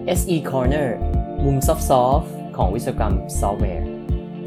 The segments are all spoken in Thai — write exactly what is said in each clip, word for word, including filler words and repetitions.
เอส อี Corner มุมซอฟต์ๆของวิศวกรรมซอฟต์แวร์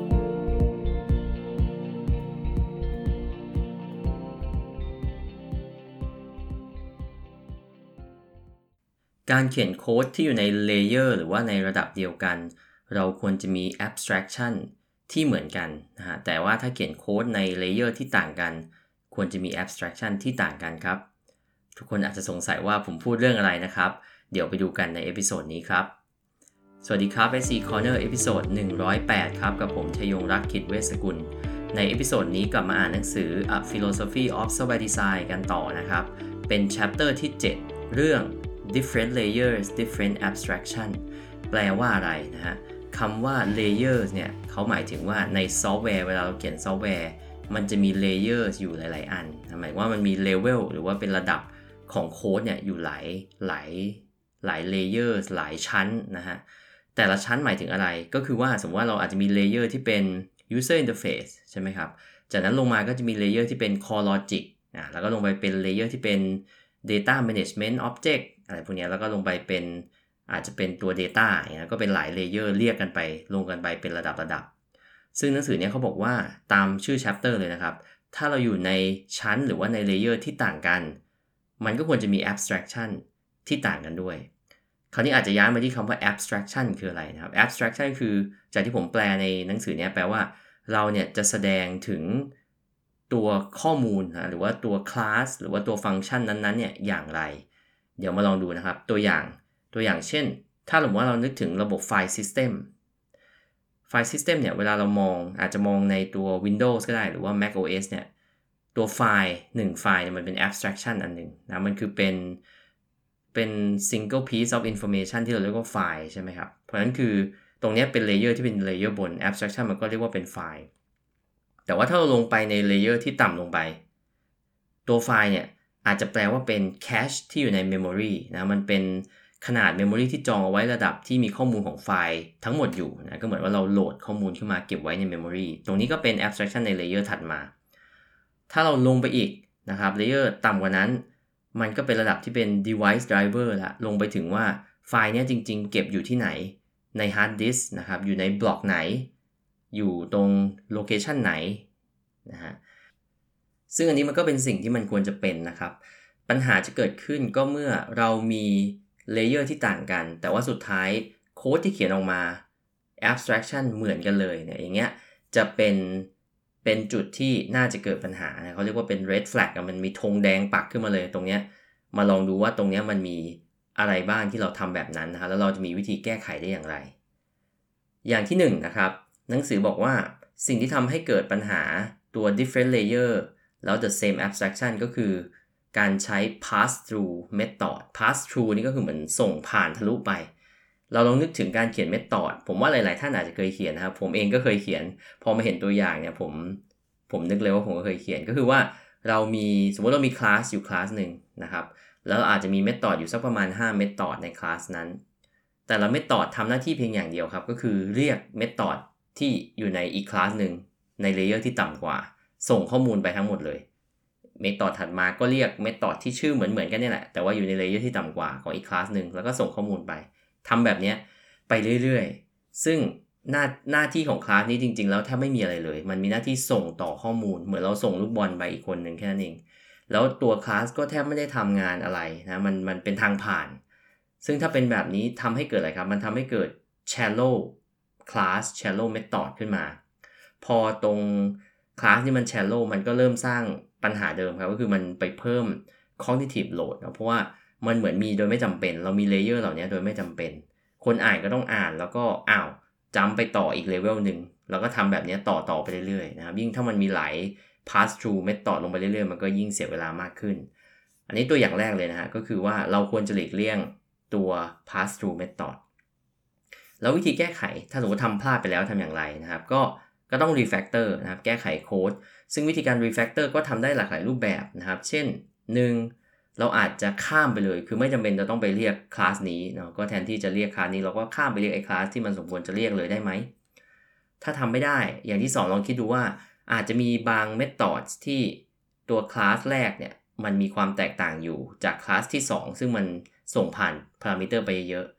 การเขียนโค้ดที่อยู่ในเลเยอร์หรือว่าในระดับเดียวกันเราควรจะมี abstraction ที่เหมือนกันนะฮะแต่ว่าถ้าเขียนโค้ดในเลเยอร์ที่ต่างกันควรจะมี abstraction ที่ต่างกันครับทุกคนอาจจะสงสัยว่าผมพูดเรื่องอะไรนะครับเดี๋ยวไปดูกันในเอพิโซดนี้ครับสวัสดีครับ เอส อี Corner เอพิโซดหนึ่งร้อยแปดครับกับผมชยงรักษ์ ขิตเวชสกุลในเอพิโซดนี้กลับมาอ่านหนังสือ A Philosophy of Software Design กันต่อนะครับเป็น chapter ที่เจ็ดเรื่อง different layers different abstraction แปลว่าอะไรนะฮะคำว่า layers เนี่ยเขาหมายถึงว่าในซอฟต์แวร์เวลาเราเขียนซอฟต์แวร์มันจะมี layers อยู่หลายๆอันหมายว่ามันมี level หรือว่าเป็นระดับของโค้ดเนี่ยอยู่หลายหลายหลาย layers หลายชั้นนะฮะแต่ละชั้นหมายถึงอะไรก็คือว่าสมมติว่าเราอาจจะมี layer ที่เป็น user interface ใช่ไหมครับจากนั้นลงมาก็จะมี layer ที่เป็น core logic อ่ะแล้วก็ลงไปเป็น layer ที่เป็น data management object อะไรพวกนี้แล้วก็ลงไปเป็นอาจจะเป็นตัว data อย่างเงี้ยก็เป็นหลาย layer เรียกกันไปลงกันไปเป็นระดับระดับซึ่งหนังสือเนี้ยเขาบอกว่าตามชื่อ chapter เลยนะครับถ้าเราอยู่ในชั้นหรือว่าใน layer ที่ต่างกันมันก็ควรจะมี abstraction ที่ต่างกันด้วยคราวนี้อาจจะย้ายมาที่คำว่า abstraction คืออะไรนะครับ abstraction คือจากที่ผมแปลในหนังสือเนี้ยแปลว่าเราเนี่ยจะแสดงถึงตัวข้อมูลนะหรือว่าตัว class หรือว่าตัวฟังก์ชันนั้นๆเนี่ยอย่างไรเดี๋ยวมาลองดูนะครับตัวอย่างตัวอย่างเช่นถ้าสมมติว่าเรานึกถึงระบบไฟล์ system ไฟล์ system เนี่ยเวลาเรามองอาจจะมองในตัว Windows ก็ได้หรือว่า Mac โอ เอส เนี่ยตัวไฟล์หนึ่งไฟล์เนี่ยมันเป็น abstraction อันหนึ่งนะมันคือเป็นเป็น single piece of information ที่เราเรียกว่าไฟล์ใช่ไหมครับเพราะฉะนั้นคือตรงนี้เป็น layer ที่เป็น layer บน abstraction มันก็เรียกว่าเป็นไฟล์แต่ว่าถ้าเราลงไปใน layer ที่ต่ำลงไปตัวไฟล์เนี่ยอาจจะแปลว่าเป็น cache ที่อยู่ใน memory นะมันเป็นขนาด memory ที่จองเอาไว้ระดับที่มีข้อมูลของไฟล์ทั้งหมดอยู่นะก็เหมือนว่าเราโหลดข้อมูลขึ้นมาเก็บไว้ใน memory ตรงนี้ก็เป็น abstraction ใน layer ถัดมาถ้าเราลงไปอีกนะครับ layer ต่ำกว่านั้นมันก็เป็นระดับที่เป็น device driver ละลงไปถึงว่าไฟล์นี้จริงๆเก็บอยู่ที่ไหนใน hard disk นะครับอยู่ในบล็อกไหนอยู่ตรง location ไหนนะฮะซึ่งอันนี้มันก็เป็นสิ่งที่มันควรจะเป็นนะครับปัญหาจะเกิดขึ้นก็เมื่อเรามีเลเยอร์ที่ต่างกันแต่ว่าสุดท้ายโค้ดที่เขียนออกมา abstraction เหมือนกันเลยเนี่ยอย่างเงี้ยจะเป็นเป็นจุดที่น่าจะเกิดปัญหาเขาเรียกว่าเป็น red flag มันมีธงแดงปักขึ้นมาเลยตรงเนี้ยมาลองดูว่าตรงเนี้ยมันมีอะไรบ้างที่เราทำแบบนั้นนะครับแล้วเราจะมีวิธีแก้ไขได้อย่างไรอย่างที่หนึ่งนะครับหนังสือบอกว่าสิ่งที่ทำให้เกิดปัญหาตัว different layer แล้ว the same abstraction ก็คือการใช้ pass through method pass through นี่ก็คือเหมือนส่งผ่านทะลุไปเราลองนึกถึงการเขียน method ผมว่าหลายๆท่านอาจจะเคยเขียนนะครับผมเองก็เคยเขียนพอมาเห็นตัวอย่างเนี่ยผมผมนึกเลยว่าผมก็เคยเขียนก็คือว่าเรามีสมมติเรามีคลาสอยู่คลาสหนึ่งนะครับแล้วอาจจะมี method อยู่สักประมาณห้า method ในคลาสนั้นแต่ละ method ทำหน้าที่เพียงอย่างเดียวครับก็คือเรียก method ที่อยู่ในอีกคลาสหนึ่งในเลเยอร์ที่ต่ำกว่าส่งข้อมูลไปทั้งหมดเลยเมธอดถัดมาก็เรียกเมธอดที่ชื่อเหมือนๆกันนี่แหละแต่ว่าอยู่ในเลเยอร์ที่ต่ำกว่าของอีกคลาสหนึ่งแล้วก็ส่งข้อมูลไปทำแบบนี้ไปเรื่อยๆซึ่งหน้าหน้าที่ของคลาสนี้จริงๆแล้วแทบไม่มีอะไรเลยมันมีหน้าที่ส่งต่อข้อมูลเหมือนเราส่งลูกบอลไปอีกคนหนึ่งแค่นั้นเองแล้วตัวคลาสก็แทบไม่ได้ทำงานอะไรนะมันมันเป็นทางผ่านซึ่งถ้าเป็นแบบนี้ทำให้เกิดอะไรครับมันทำให้เกิด shallow class shallow method ขึ้นมาพอตรงคลาสที่มัน shallow มันก็เริ่มสร้างปัญหาเดิมครับก็คือมันไปเพิ่ม cognitive load นะเพราะว่ามันเหมือนมีโดยไม่จำเป็นเรามีเลเยอร์เหล่านี้โดยไม่จำเป็นคนอ่านก็ต้องอ่านแล้วก็อ้าวจำไปต่ออีกเลเวลหนึ่งแล้วก็ทำแบบนี้ต่อต่อไปเรื่อยๆนะครับยิ่งถ้ามันมีหลาย pass through method ลงไปเรื่อยๆมันก็ยิ่งเสียเวลามากขึ้นอันนี้ตัวอย่างแรกเลยนะฮะก็คือว่าเราควรจะหลีกเลี่ยงตัว pass through method แล้ววิธีแก้ไขถ้าสมมติทำพลาดไปแล้วทำอย่างไรนะครับก็ก็ต้อง refactor นะครับแก้ไขโค้ดซึ่งวิธีการ refactor ก็ทำได้หลากหลายรูปแบบนะครับเช่นหนึ่งเราอาจจะข้ามไปเลยคือไม่จำเป็นจะต้องไปเรียกคลาสนี้เนาะก็แทนที่จะเรียกคลาสนี้เราก็ข้ามไปเรียกไอ้คลาสที่มันสมควรจะเรียกเลยได้ไหมถ้าทำไม่ได้อย่างที่สองลองคิดดูว่าอาจจะมีบาง methods ที่ตัวคลาสแรกเนี่ยมันมีความแตกต่างอยู่จากคลาสที่สองซึ่งมันส่งผ่านพารามิเตอร์ไปเยอะแ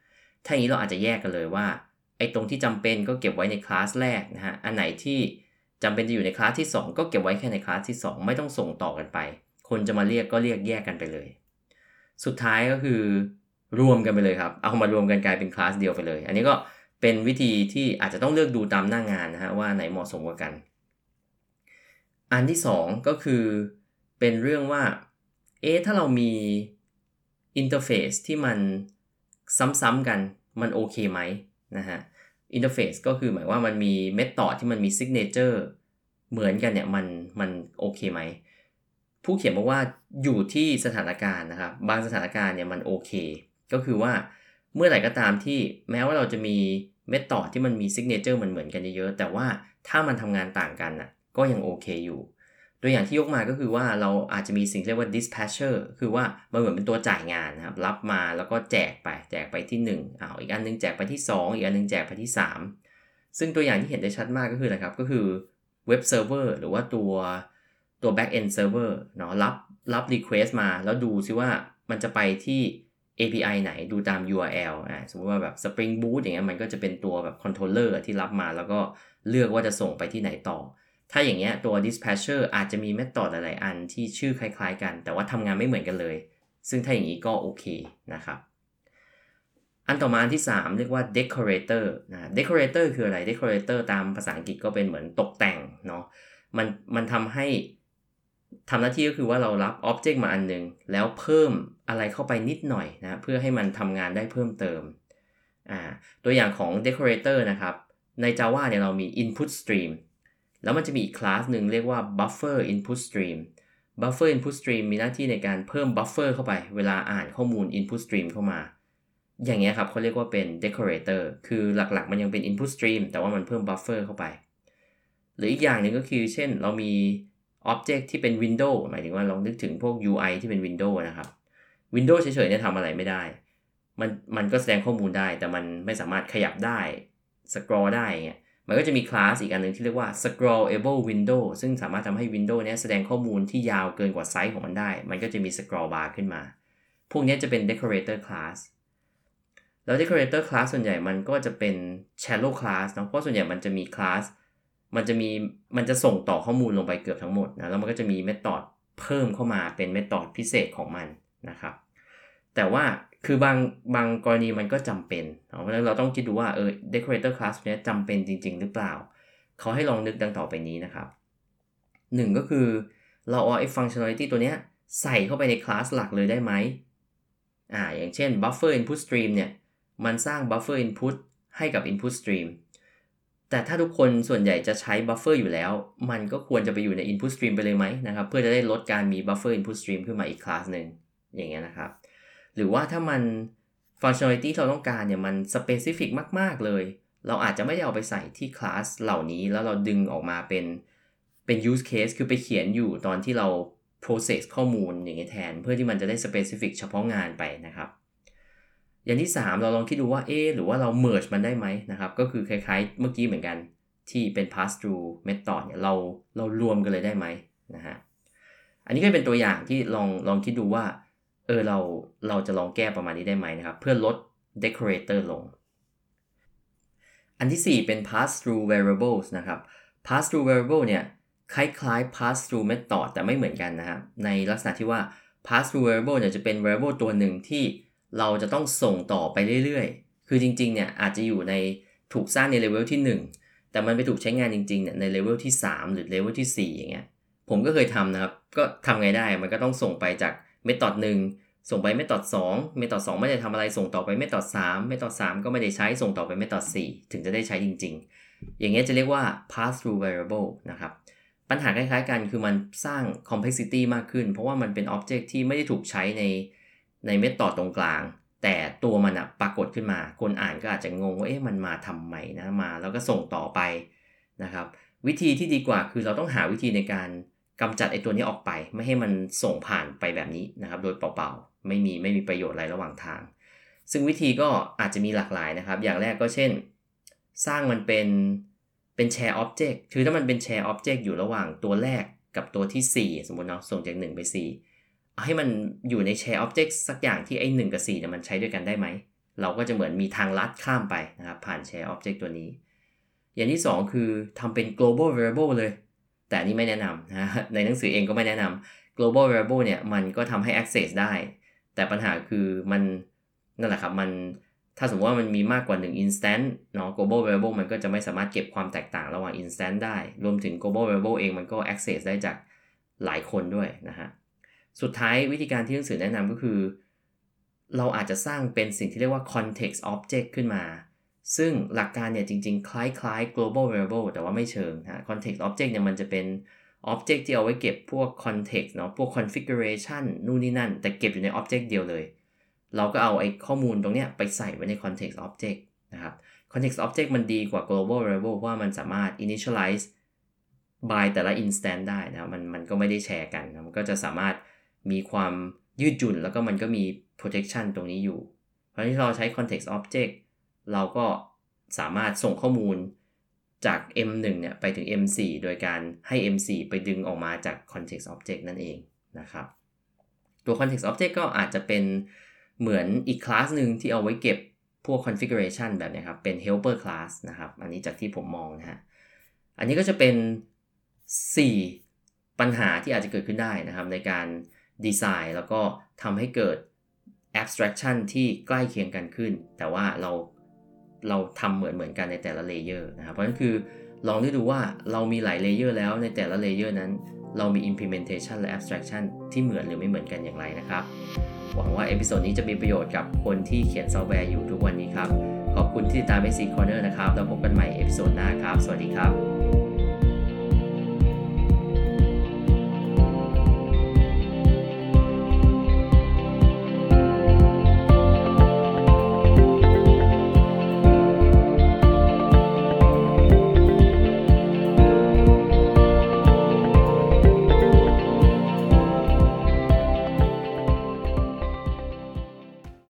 ถ้าอย่างนี้เราอาจจะแยกกันเลยว่าไอ้ตรงที่จำเป็นก็เก็บไว้ในคลาสแรกนะฮะอันไหนที่จำเป็นจะอยู่ในคลาสที่สองก็เก็บไว้แค่ในคลาสที่สองไม่ต้องส่งต่อกันไปคนจะมาเรียกก็เรียกแยกกันไปเลยสุดท้ายก็คือรวมกันไปเลยครับเอามารวมกันกลายเป็นคลาสเดียวไปเลยอันนี้ก็เป็นวิธีที่อาจจะต้องเลือกดูตามหน้างานนะฮะว่าไหนเหมาะสมกว่ากันอันที่สองก็คือเป็นเรื่องว่าเอ๊ะถ้าเรามีอินเทอร์เฟซที่มันซ้ำๆกันมันโอเคไหมนะฮะอินเทอร์เฟซก็คือหมายว่ามันมีเมธอดที่มันมีซิกเนเจอร์เหมือนกันเนี่ยมันมันโอเคไหมผู้เขียนบอกว่าอยู่ที่สถานการณ์นะครับบางสถานการณ์เนี่ยมันโอเคก็คือว่าเมื่อไหร่ก็ตามที่แม้ว่าเราจะมีเมธอดที่มันมีซิกเนเจอร์เหมือนๆกันเยอะๆแต่ว่าถ้ามันทำงานต่างกันน่ะก็ยังโอเคอยู่ตัวอย่างที่ยกมาก็คือว่าเราอาจจะมีสิ่งเรียกว่า dispatcher คือว่ามันเหมือนเป็นตัวจ่ายงานนะครับรับมาแล้วก็แจกไปแจกไปที่หนึ่งอ้าวอีกอันนึงแจกไปที่สองอีกอันนึงแจกไปที่สามซึ่งตัวอย่างที่เห็นได้ชัดมากก็คืออะไรครับก็คือเว็บเซิร์ฟเวอร์หรือว่าตัวตัว back end server เนาะรับรับ request มาแล้วดูซิว่ามันจะไปที่ เอ พี ไอ ไหนดูตาม ยู อาร์ แอล อ่าสมมติว่าแบบ Spring Boot อย่างเงี้ยมันก็จะเป็นตัวแบบ controller ที่รับมาแล้วก็เลือกว่าจะส่งไปที่ไหนต่อถ้าอย่างเงี้ยตัว dispatcher อาจจะมี method หลายๆอันที่ชื่อคล้ายๆกันแต่ว่าทำงานไม่เหมือนกันเลยซึ่งถ้าอย่างนี้ก็โอเคนะครับอันต่อมาอันที่สามเรียกว่า decorator นะ decorator คืออะไร decorator ตามภาษาอังกฤษก็เป็นเหมือนตกแต่งเนาะมันมันทำให้ทำหน้าที่ก็คือว่าเรารับ object มาอันนึงแล้วเพิ่มอะไรเข้าไปนิดหน่อยนะเพื่อให้มันทำงานได้เพิ่มเติมอ่าตัวอย่างของ decorator นะครับใน Java เนี่ยเรามี input streamแล้วมันจะมีอีกคลาสหนึ่งเรียกว่า buffer input stream buffer input stream มีหน้าที่ในการเพิ่ม buffer เข้าไปเวลาอ่านข้อมูล input stream เข้ามาอย่างเงี้ยครับเขาเรียกว่าเป็น decorator คือหลักๆมันยังเป็น input stream แต่ว่ามันเพิ่ม buffer เข้าไปหรืออีกอย่างหนึ่งก็คือเช่นเรามี object ที่เป็น window หมายถึงว่าลองนึกถึงพวก ยู ไอ ที่เป็น window นะครับ window เฉยๆเนี่ยทำอะไรไม่ได้มันมันก็แสดงข้อมูลได้แต่มันไม่สามารถขยับได้ scroll ได้เงี้ยมันก็จะมีคลาสอีกอันนึงที่เรียกว่า scrollable window ซึ่งสามารถทำให้ window นี้แสดงข้อมูลที่ยาวเกินกว่าไซส์ของมันได้มันก็จะมี scroll bar ขึ้นมาพวกนี้จะเป็น decorator class แล้ว decorator class ส่วนใหญ่มันก็จะเป็น shallow class เนาะเพราะส่วนใหญ่มันจะมี class มันจะมีมันจะส่งต่อข้อมูลลงไปเกือบทั้งหมดนะแล้วมันก็จะมี method เพิ่มเข้ามาเป็น method พิเศษของมันนะครับแต่ว่าคือบางบางกรณีมันก็จำเป็นเพราะฉะนั้นเราต้องคิดดูว่าเออ decorator class เนี้ยจำเป็นจริงๆหรือเปล่าเขาให้ลองนึกดังต่อไปนี้นะครับหนึ่งก็คือเราเอาไอ้ functionality ตัวเนี้ยใส่เข้าไปในคลาสหลักเลยได้ไหมอ่าอย่างเช่น buffer input stream เนี่ยมันสร้าง buffer input ให้กับ input stream แต่ถ้าทุกคนส่วนใหญ่จะใช้ buffer อยู่แล้วมันก็ควรจะไปอยู่ใน input stream ไปเลยไหมนะครับเพื่อจะได้ลดการมี buffer input stream ขึ้นมาอีกคลาสหนึ่งอย่างเงี้ยนะครับหรือว่าถ้ามัน functionality ที่เราต้องการเนี่ยมัน specific มากๆเลยเราอาจจะไม่ได้เอาไปใส่ที่คลาสเหล่านี้แล้วเราดึงออกมาเป็นเป็น use case คือไปเขียนอยู่ตอนที่เรา process ข้อมูลอย่างเงี้ยแทนเพื่อที่มันจะได้ specific เฉพาะงานไปนะครับอย่างที่สามเราลองคิดดูว่าเอ๊ะหรือว่าเรา merge มันได้ไหมนะครับก็คือคล้ายๆเมื่อกี้เหมือนกันที่เป็น pass through method เนี่ยเราเรารวมกันเลยได้ไหมนะฮะอันนี้ก็เป็นตัวอย่างที่ลองลองคิดดูว่าเออเราเราจะลองแก้ประมาณนี้ได้ไหมนะครับเพื่อลด decorator ลงอันที่สี่เป็น pass through variables นะครับ pass through variable เนี่ยคล้ายๆ pass through method แต่ไม่เหมือนกันนะครับในลักษณะที่ว่า pass through variable เนี่ยจะเป็น variable ตัวหนึ่งที่เราจะต้องส่งต่อไปเรื่อยๆคือจริงๆเนี่ยอาจจะอยู่ในถูกสร้างในเลเวลที่หนึ่งแต่มันไปถูกใช้งานจริงๆเนี่ยในเลเวลที่สามหรือเลเวลที่สี่อย่างเงี้ยผมก็เคยทำนะครับก็ทำไงได้มันก็ต้องส่งไปจาก method หนึ่งส่งไป method สอง method สองไม่ได้ทำอะไรส่งต่อไป method สาม method สามก็ไม่ได้ใช้ส่งต่อไป method สี่ถึงจะได้ใช้จริงๆอย่างเงี้ยจะเรียกว่า pass through variable นะครับปัญหาคล้ายๆกันคือมันสร้าง complexity มากขึ้นเพราะว่ามันเป็น object ที่ไม่ได้ถูกใช้ในใน method ตรงกลางแต่ตัวมันอะปรากฏขึ้นมาคนอ่านก็อาจจะงงว่าเอ๊ะมันมาทำไมนะมาแล้วก็ส่งต่อไปนะครับวิธีที่ดีกว่าคือเราต้องหาวิธีในการกำจัดไอ้ตัวนี้ออกไปไม่ให้มันส่งผ่านไปแบบนี้นะครับโดยเปล่าๆไม่มีไม่มีประโยชน์อะไรระหว่างทางซึ่งวิธีก็อาจจะมีหลากหลายนะครับอย่างแรกก็เช่นสร้างมันเป็นเป็นแชร์ออบเจกต์คือถ้ามันเป็นแชร์ออบเจกต์อยู่ระหว่างตัวแรกกับตัวที่สี่สมมุติเนาะส่งจากหนึ่งไปสี่เอาให้มันอยู่ในแชร์ออบเจกต์สักอย่างที่ไอ้หนึ่งกับสี่เนี่ยมันใช้ด้วยกันได้ไหมเราก็จะเหมือนมีทางลัดข้ามไปนะครับผ่าน share object ตัวนี้อย่างที่สองคือทำเป็น global variable เลยแต่อันนี้ไม่แนะนำนะในหนังสือเองก็ไม่แนะนำ global variable เนี่ยมันก็ทำให้ access ได้แต่ปัญหาคือมันนั่นแหละครับมันถ้าสมมติว่ามันมีมากกว่าหนึ่ง instance เนาะ global variable มันก็จะไม่สามารถเก็บความแตกต่างระหว่าง instance ได้รวมถึง global variable เองมันก็ access ได้จากหลายคนด้วยนะฮะสุดท้ายวิธีการที่หนังสือแนะนำก็คือเราอาจจะสร้างเป็นสิ่งที่เรียกว่า context object ขึ้นมาซึ่งหลักการเนี่ยจริงๆคล้ายๆ global variable แต่ว่าไม่เชิงนะ context object เนี่ยมันจะเป็น object ที่เอาไว้เก็บพวก context เนาะพวก configuration นู่นนี่นั่นแต่เก็บอยู่ใน object เดียวเลยเราก็เอาไอ้ข้อมูลตรงเนี้ยไปใส่ไว้ใน context object นะครับ context object มันดีกว่า global variable เพราะว่ามันสามารถ initialize by แต่ละ instance ได้นะมันมันก็ไม่ได้แชร์กันนะมันก็จะสามารถมีความยืดหยุ่นแล้วก็มันก็มี protection ตรงนี้อยู่เพราะฉะนั้นเราใช้ context object เราก็สามารถส่งข้อมูลจาก เอ็ม หนึ่ง เนี่ยไปถึง เอ็ม โฟร์ โดยการให้ เอ็ม โฟร์ ไปดึงออกมาจาก context object นั่นเองนะครับตัว context object ก็อาจจะเป็นเหมือนอีกคลาสหนึ่งที่เอาไว้เก็บพวก configuration แบบนี้ครับเป็น helper class นะครับอันนี้จากที่ผมมองนะฮะอันนี้ก็จะเป็นสี่ปัญหาที่อาจจะเกิดขึ้นได้นะครับในการดีไซน์แล้วก็ทำให้เกิด abstraction ที่ใกล้เคียงกันขึ้นแต่ว่าเราเราทำเหมือนเหมือนกันในแต่ละเลเยอร์นะครับเพราะฉะนั้นคือลองได้ดูว่าเรามีหลายเลเยอร์แล้วในแต่ละเลเยอร์นั้นเรามี implementation และ abstraction ที่เหมือนหรือไม่เหมือนกันอย่างไรนะครับหวังว่าเอพิโซดนี้จะมีประโยชน์กับคนที่เขียนซอฟต์แวร์อยู่ทุกวันนี้ครับขอบคุณที่ติดตาม เอ ซี Corner นะครับแล้วพบกันใหม่เอพิโซดหน้าครับสวัสดีครับ